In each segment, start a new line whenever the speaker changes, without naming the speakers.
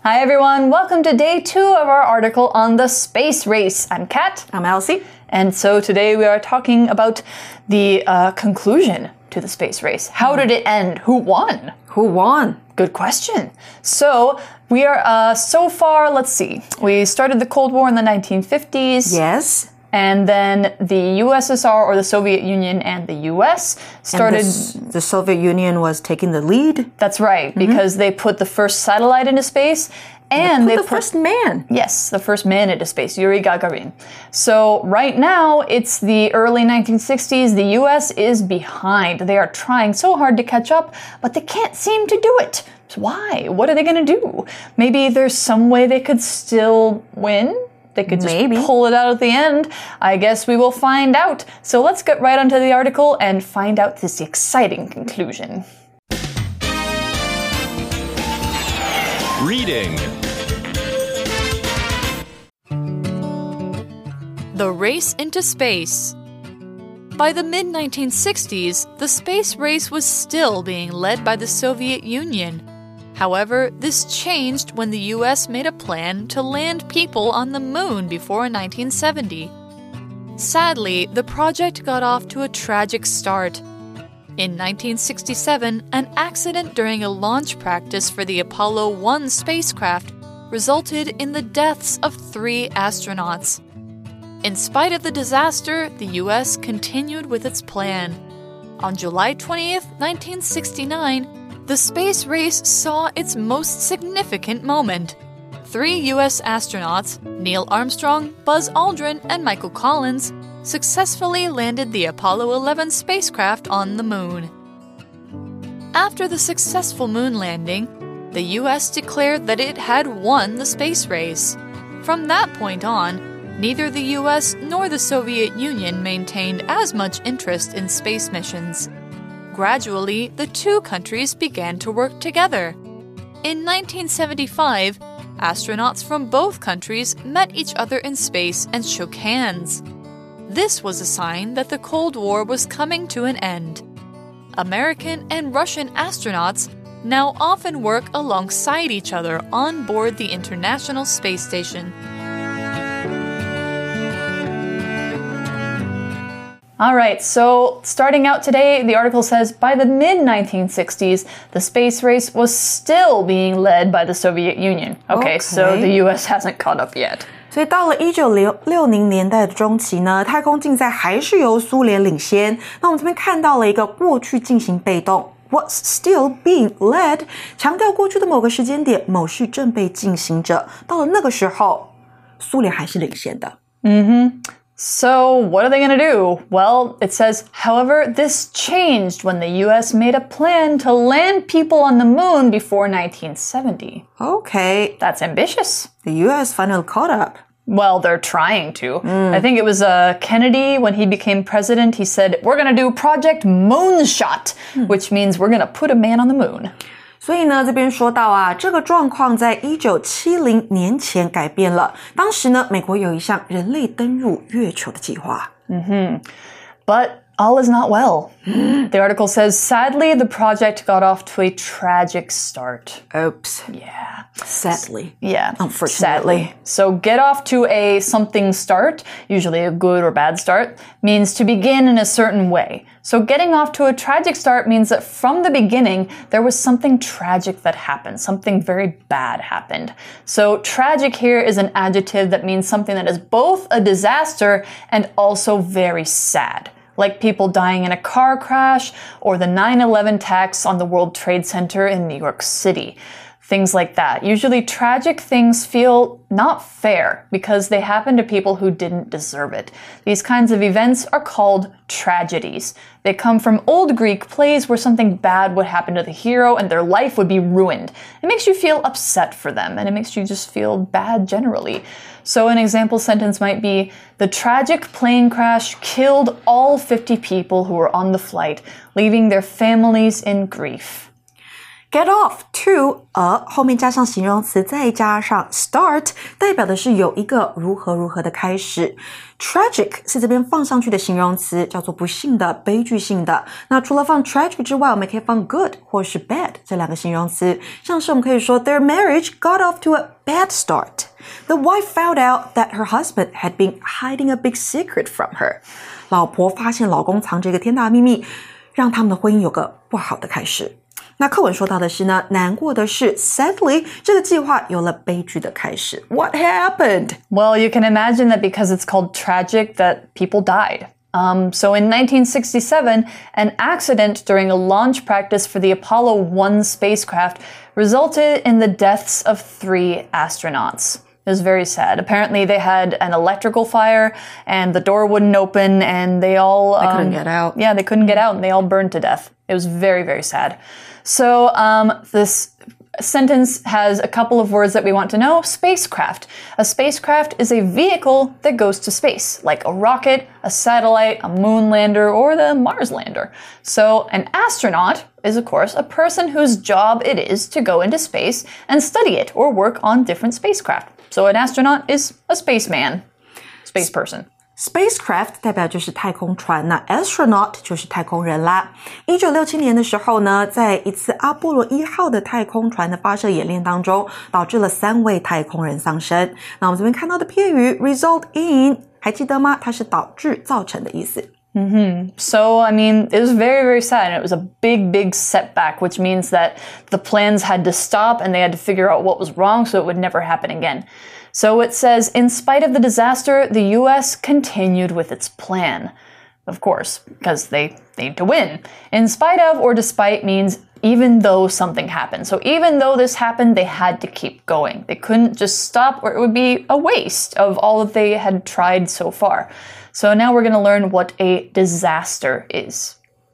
Hi everyone, welcome to day 2 of our article on the space race. I'm Kat.
I'm Elsie.
And so today we are talking about the conclusion to the space race. How did it end? Who won?
Who won?
Good question. So we are, so far, let's see. We started the Cold War in the 1950s.
Yes.
And then the USSR, or the Soviet Union, and the US started...
And the Soviet Union was taking the lead?
That's right, because they put the first satellite into space. And
they put the first man.
Yes, the first man into space, Yuri Gagarin. So right now, it's the early 1960s. The US is behind. They are trying so hard to catch up, but they can't seem to do it. Why? What are they going to do? Maybe there's some way they could still win? They could just pull it out at the end. I guess we will find out. So let's get right onto the article and find out this exciting conclusion.
Reading.
The Race into Space. By the mid-1960s, the space race was still being led by the Soviet Union. However, this changed when the US made a plan to land people on the moon before 1970. Sadly, the project got off to a tragic start. In 1967, an accident during a launch practice for the Apollo 1 spacecraft resulted in the deaths of 3 astronauts. In spite of the disaster, the US continued with its plan. On July 20th, 1969, the space race saw its most significant moment. 3 U.S. astronauts, Neil Armstrong, Buzz Aldrin, and Michael Collins, successfully landed the Apollo 11 spacecraft on the moon. After the successful moon landing, the U.S. declared that it had won the space race. From that point on, neither the U.S. nor the Soviet Union maintained as much interest in space missions. Gradually, the 2 countries began to work together. In 1975, astronauts from both countries met each other in space and shook hands. This was a sign that the Cold War was coming to an end. American and Russian astronauts now often work alongside each other on board the International Space Station.
All right, so starting out today, the article says by the mid-1960s, the space race was still being led by the Soviet Union. Okay, so the US hasn't caught up yet.
所以到了1960年代的中期呢，太空竞赛还是由苏联領先。那我們這邊看到了一個過去進行被動 was still being led， 強調過去的某個時間點，某事正被進行着。到了那個時候，蘇聯還是領先的。
So what are they going to do? Well, it says, however, this changed when the US made a plan to land people on the moon before 1970.
Okay.
That's ambitious.
The US finally caught up.
Well, they're trying to. I think it was Kennedy, when he became president, he said, we're going to do Project Moonshot, which means we're going to put a man on the moon.
所以呢，這邊說到啊，這個狀況在1970年前改變了。當時呢，美國有一項人類登入月球的計劃。
But all is not well. The article says, sadly, the project got off to a tragic start.
Oops.
Yeah.
Sadly.
Yeah.
Unfortunately.
Sadly. So get off to a something start, usually a good or bad start, means to begin in a certain way. So getting off to a tragic start means that from the beginning, there was something tragic that happened. Something very bad happened. So tragic here is an adjective that means something that is both a disaster and also very sad. Like people dying in a car crash or the 9/11 attacks on the World Trade Center in New York City. Things like that. Usually tragic things feel not fair because they happen to people who didn't deserve it. These kinds of events are called tragedies. They come from old Greek plays where something bad would happen to the hero and their life would be ruined. It makes you feel upset for them and it makes you just feel bad generally. So an example sentence might be, the tragic plane crash killed all 50 people who were on the flight, leaving their families in grief.
Get off to a 後面加上形容詞再加上 start 代表的是有一個如何如何的開始。Tragic 是這邊放上去的形容詞，叫做不幸的、悲劇性的。那除了放 tragic 之外，我們可以放 good 或是 bad 這兩個形容詞。像是我們可以說 Their marriage got off to a bad start. The wife found out that her husband had been hiding a big secret from her. 老婆發現老公藏着一個天大的秘密，讓他們的婚姻有個不好的開始。那課文說到的是呢，難過的是 sadly 這個計劃有了悲劇的開始。What happened?
Well, you can imagine that because it's called tragic that people died. So in 1967, an accident during a launch practice for the Apollo 1 spacecraft resulted in the deaths of 3 astronauts. It was very sad. Apparently, they had an electrical fire, and the door wouldn't open, and they
couldn't get out.
Yeah, they couldn't get out, and they all burned to death. It was very, very sad. So this sentence has a couple of words that we want to know. Spacecraft. A spacecraft is a vehicle that goes to space, like a rocket, a satellite, a moon lander, or the Mars lander. So an astronaut is, of course, a person whose job it is to go into space and study it or work on different spacecraft. So an astronaut is a spaceman, space person.
Spacecraft 代表就是太空船，那 astronaut 就是太空人啦。1967年的時候呢，在一次阿波羅1號的太空船的發射演練當中，導致了3位太空人喪生。那我們這邊看到的片語 result in 還記得嗎？它是導致、造成的意思。
So, I mean, it was very, very sad. And it was a big, big setback, which means that the plans had to stop and they had to figure out what was wrong so it would never happen again. So it says, in spite of the disaster, the U.S. continued with its plan. Of course, because they need to win. In spite of or despite means even though something happened. So even though this happened, they had to keep going. They couldn't just stop or it would be a waste of all that they had tried so far. So now we're going to learn what a disaster is.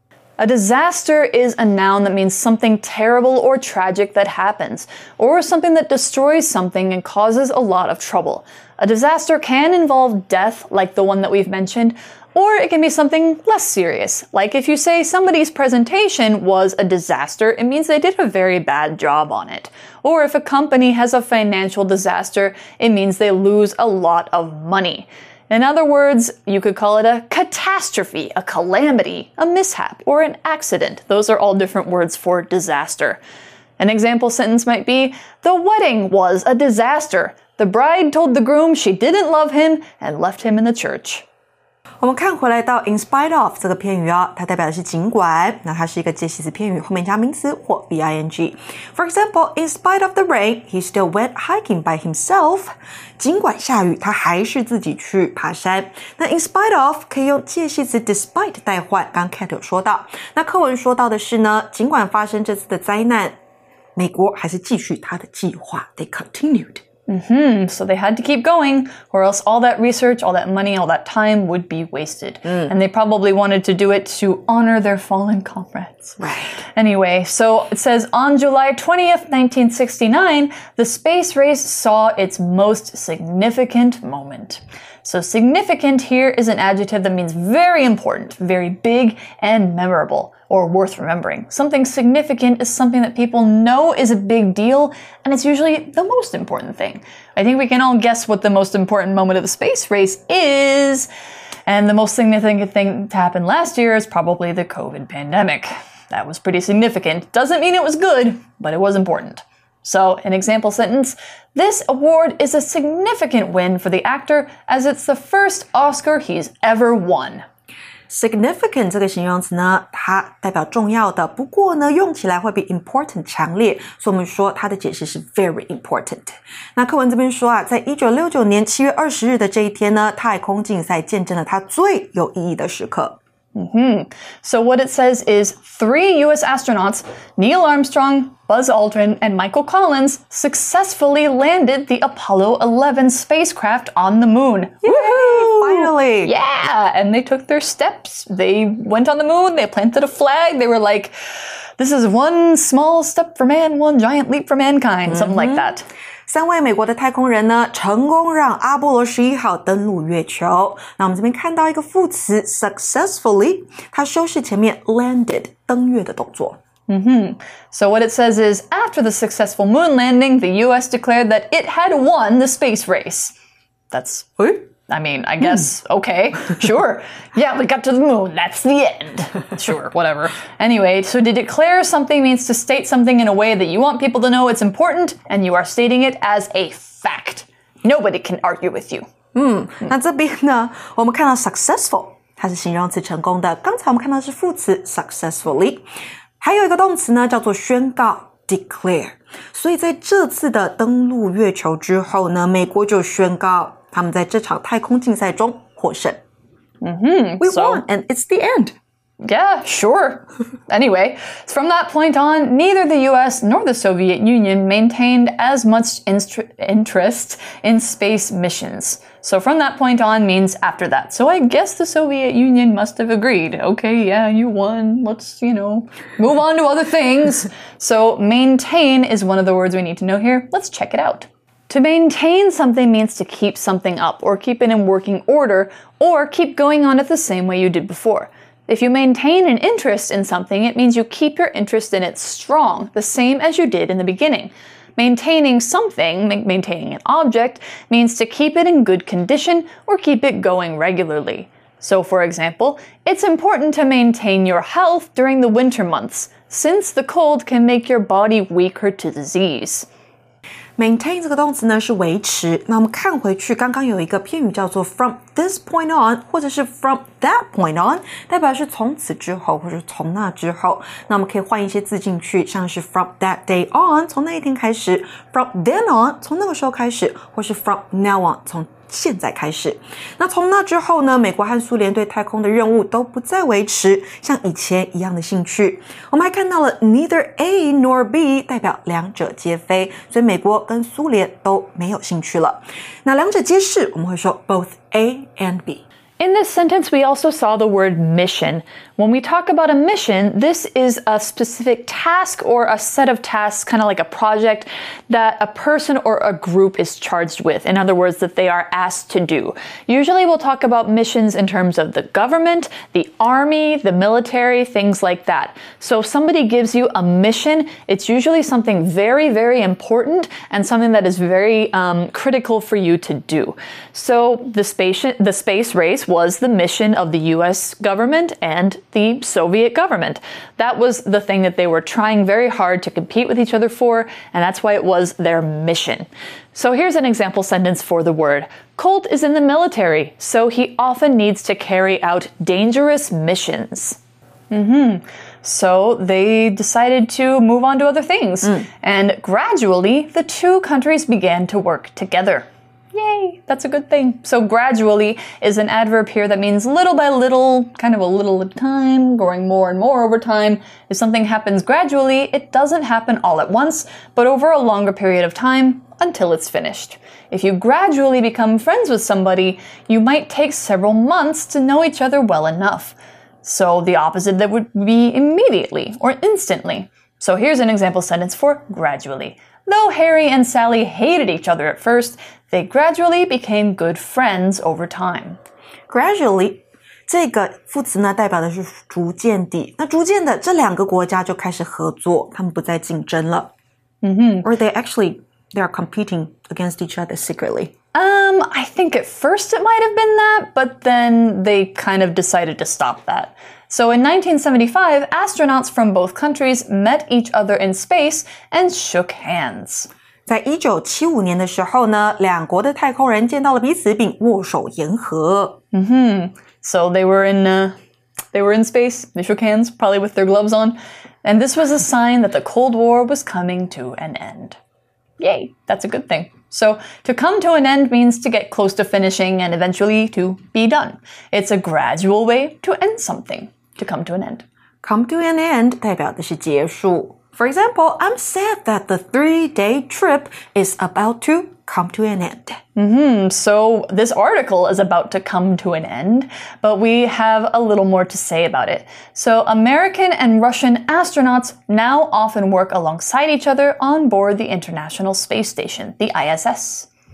A disaster is a noun that means something terrible or tragic that happens, or something that destroys something and causes a lot of trouble. A disaster can involve death, like the one that we've mentioned, or it can be something less serious. Like if you say somebody's presentation was a disaster, it means they did a very bad job on it. Or if a company has a financial disaster, it means they lose a lot of money. In other words, you could call it a catastrophe, a calamity, a mishap, or an accident. Those are all different words for disaster. An example sentence might be, the wedding was a disaster. The bride told the groom she didn't love him and left him in the church.
我們看回來到 in spite of 這個片語哦，它代表的是儘管，那它是一個介系詞片語，後面加名詞或 VING. For example, in spite of the rain, he still went hiking by himself. 儘管下雨，他還是自己去爬山。那 in spite of 可以用介系詞 despite 代換，剛 Kat 有說到。那課文說到的是呢，儘管發生這次的災難，美國還是繼續他的計劃。They continued.
So they had to keep going, or else all that research, all that money, all that time would be wasted. And they probably wanted to do it to honor their fallen comrades.
Right.
Anyway, so it says, on July 20th, 1969, the space race saw its most significant moment. So significant here is an adjective that means very important, very big, and memorable, or worth remembering. Something significant is something that people know is a big deal, and it's usually the most important thing. I think we can all guess what the most important moment of the space race is, and the most significant thing to happen last year is probably the COVID pandemic. That was pretty significant. Doesn't mean it was good, but it was important. So, an example sentence, this award is a significant win for the actor as it's the first Oscar he's ever won.
Significant 這個形容詞呢，它代表重要的，不過呢，用起來會比 important 強烈，所以我們說它的解釋是 very important。那課文這邊說啊，在1969年7月20日的這一天呢，太空競賽見證了它最有意義的時刻。
So what it says is 3 U.S. astronauts, Neil Armstrong, Buzz Aldrin, and Michael Collins, successfully landed the Apollo 11 spacecraft on the moon.
Woohoo! Finally!
Yeah! And they took their steps. They went on the moon. They planted a flag. They were like, this is one small step for man, one giant leap for mankind. Something like that.
3位美國的太空人呢，成功讓阿波羅11號登陸月球。那我們這邊看到一個副詞 successfully， 它修飾前面 landed 登月的動作。
So what it says is, after the successful moon landing, the US declared that it had won the space race. That's... I mean, I guess, okay, sure. Yeah, we got to the moon. That's the end. Sure, whatever. Anyway, so to declare something means to state something in a way that you want people to know it's important, and you are stating it as a fact. Nobody can argue with you.
那這邊呢，我們看到 successful， 它是形容詞成功的。剛才我們看到是副詞 successfully， 還有一個動詞呢，叫做宣告 declare。所以在這次的登陸月球之後呢，美國就宣告他們在這場太空競賽中獲勝。We won, and it's the end.
Yeah, sure. Anyway, from that point on, neither the US nor the Soviet Union maintained as much interest in space missions. So from that point on means after that. So I guess the Soviet Union must have agreed. Okay, yeah, you won. Let's, move on to other things. So maintain is one of the words we need to know here. Let's check it out. To maintain something means to keep something up or keep it in working order or keep going on it the same way you did before. If you maintain an interest in something, it means you keep your interest in it strong, the same as you did in the beginning. Maintaining something, maintaining an object, means to keep it in good condition or keep it going regularly. So, for example, it's important to maintain your health during the winter months, since the cold can make your body weaker to disease.
Maintain 這個動詞呢是維持，那我們看回去，剛剛有一個片語叫做 from this point on， 或者是 from that point on， 代表是從此之後，或者從那之後。那我們可以換一些字進去，像是 from that day on， 從那一天開始 ，from then on， 從那個時候開始，或是 from now on， 從現在開始。那從那之後呢，美國和蘇聯對太空的任務都不再維持像以前一樣的興趣。我們還看到了 neither A nor B， 代表兩者皆非，所以美國跟蘇聯都沒有興趣了。那兩者皆是，我們會說 both A and B。In
this sentence, we also saw the word mission. When we talk about a mission, this is a specific task or a set of tasks, kind of like a project that a person or a group is charged with. In other words, that they are asked to do. Usually we'll talk about missions in terms of the government, the army, the military, things like that. So if somebody gives you a mission, it's usually something very, very important and something that is very critical for you to do. So the space race was the mission of the US government and the Soviet government. That was the thing that they were trying very hard to compete with each other for, and that's why it was their mission. So here's an example sentence for the word. Colt is in the military, so he often needs to carry out dangerous missions. So they decided to move on to other things, and gradually the two countries began to work together. Yay, that's a good thing. So gradually is an adverb here that means little by little, kind of a little at a time, growing more and more over time. If something happens gradually, it doesn't happen all at once, but over a longer period of time until it's finished. If you gradually become friends with somebody, you might take several months to know each other well enough. So the opposite that would be immediately or instantly. So here's an example sentence for gradually. Though Harry and Sally hated each other at first, they gradually became good friends over time.
Gradually, 這個副詞呢代表的是逐漸地。那逐漸的，這兩個國家就開始合作，他們不再競爭了。Or they are competing against each other secretly.
I think at first it might have been that, but then they kind of decided to stop that. So in 1975, astronauts from both countries met each other in space and shook hands.
在1975年的時候呢，兩國的太空人見到了彼此并握手言和。
So they were in space, they shook hands, probably with their gloves on, and this was a sign that the Cold War was coming to an end. Yay, that's a good thing. So to come to an end means to get close to finishing and eventually to be done. It's a gradual way to end something, to come to an end.
Come to an end 代表的是結束。For example, I'm sad that the 3-day trip is about to come to an end.
So this article is about to come to an end, but we have a little more to say about it. So American and Russian astronauts now often work alongside each other on board the International Space Station, the ISS.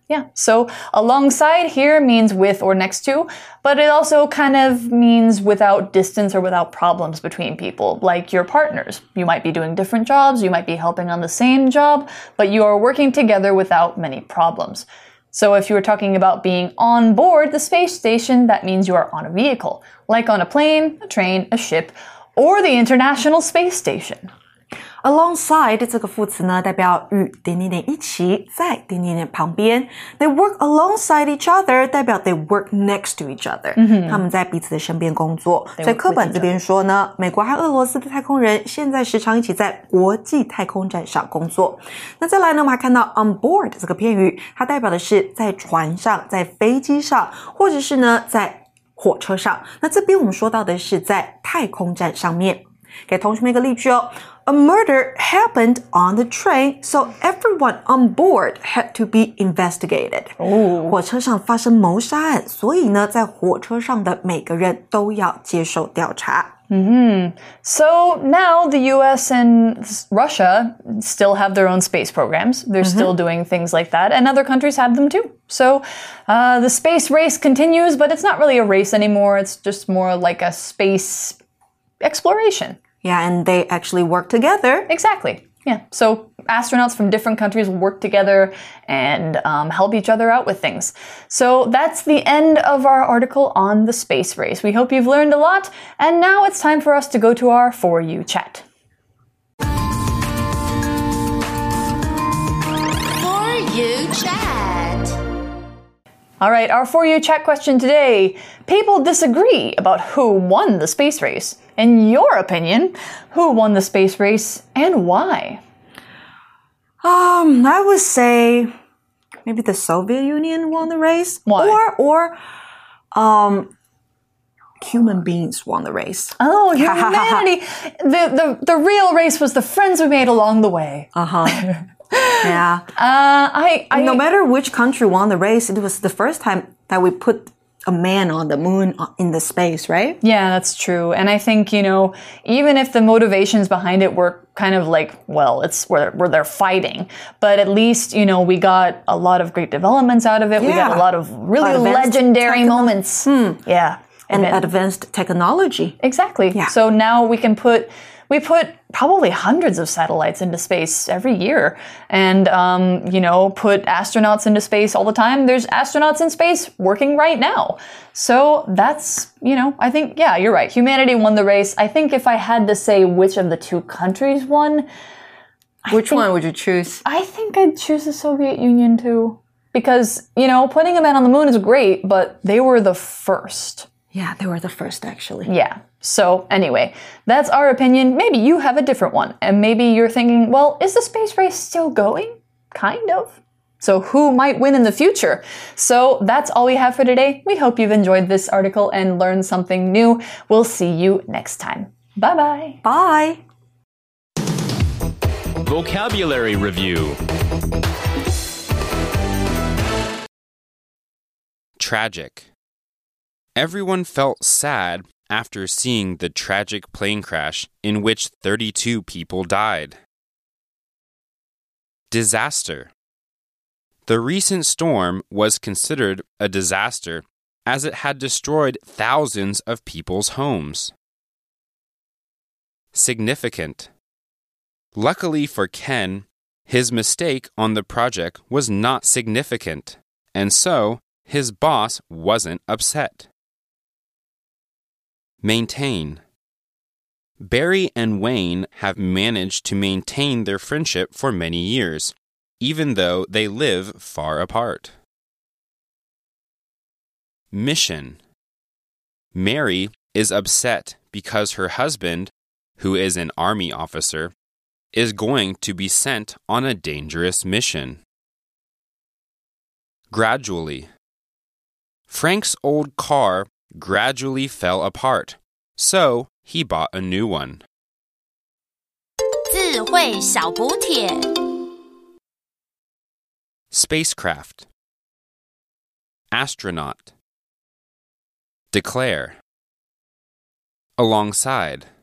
Yeah, so alongside here means with or next to, but it also kind of means without distance or without problems between people, like your partners. You might be doing different jobs, you might be helping on the same job, but you are working together without many problems. So if you were talking about being on board the space station, that means you are on a vehicle, like on a plane, a train, a ship, or the International Space Station.
Alongside 这个副词呢，代表与一起，在旁边。They work alongside each other， 代表 they work next to each other。他们在彼此的身邊工作。所以課本這邊說呢，美國和俄羅斯的太空人現在時常一起在國際太空站上工作。那再來呢，我們還看到 on board 這個片語，它代表的是在船上、在飛機上，或者是呢在火車上。那這邊我們說到的是在太空站上面。給同學們一個例句哦。A murder happened on the train, so everyone on board had to be investigated. 火車上發生謀殺案，所以呢，在火車上的每個人都要接受調查。
So now the US and Russia still have their own space programs. They're still doing things like that, and other countries have them too. So the space race continues, but it's not really a race anymore. It's just more like a space exploration.
Yeah, and they actually work together.
Exactly. Yeah. So astronauts from different countries work together and help each other out with things. So that's the end of our article on the space race. We hope you've learned a lot. And now it's time for us to go to our For You chat.
For You chat.
All right, our For You chat question today. People disagree about who won the space race. In your opinion, who won the space race and why?
I would say maybe the Soviet Union won the race.
Why?
Or human beings won the race.
Oh, humanity. the real race was the friends we made along the way.
Yeah. No matter which country won the race, it was the first time that we put a man on the moon in the space, right?
Yeah, that's true. And I think, even if the motivations behind it were kind of like, well, it's where they're fighting, but at least, we got a lot of great developments out of it. Yeah. We got a lot of really legendary moments. Yeah.
And advanced technology.
Exactly. Yeah. So now we put probably hundreds of satellites into space every year and, put astronauts into space all the time. There's astronauts in space working right now. So that's, I think, yeah, you're right. Humanity won the race. I think if I had to say which of the two countries won,
which one would you choose?
I think I'd choose the Soviet Union too. Because, putting a man on the moon is great, but they were the first.
Yeah, they were the first, actually.
Yeah. So anyway, that's our opinion. Maybe you have a different one. And maybe you're thinking, well, is the space race still going? Kind of. So who might win in the future? So that's all we have for today. We hope you've enjoyed this article and learned something new. We'll see you next time. Bye-bye.
Bye.
Vocabulary Review. Tragic. Everyone felt sad after seeing the tragic plane crash in which 32 people died. Disaster. The recent storm was considered a disaster as it had destroyed thousands of people's homes. Significant. Luckily for Ken, his mistake on the project was not significant, and so his boss wasn't upset. Maintain. Barry and Wayne have managed to maintain their friendship for many years, even though they live far apart. Mission. Mary is upset because her husband, who is an army officer, is going to be sent on a dangerous mission. Gradually. Frank's old car gradually fell apart, so he bought a new one.
智慧小補帖
Spacecraft. Astronaut. Declare. Alongside.